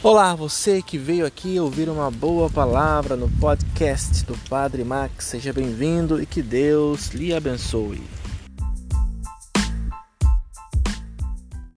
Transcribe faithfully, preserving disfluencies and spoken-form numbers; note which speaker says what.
Speaker 1: Olá, você que veio aqui ouvir uma boa palavra no podcast do Padre Max, seja bem-vindo e que Deus lhe abençoe.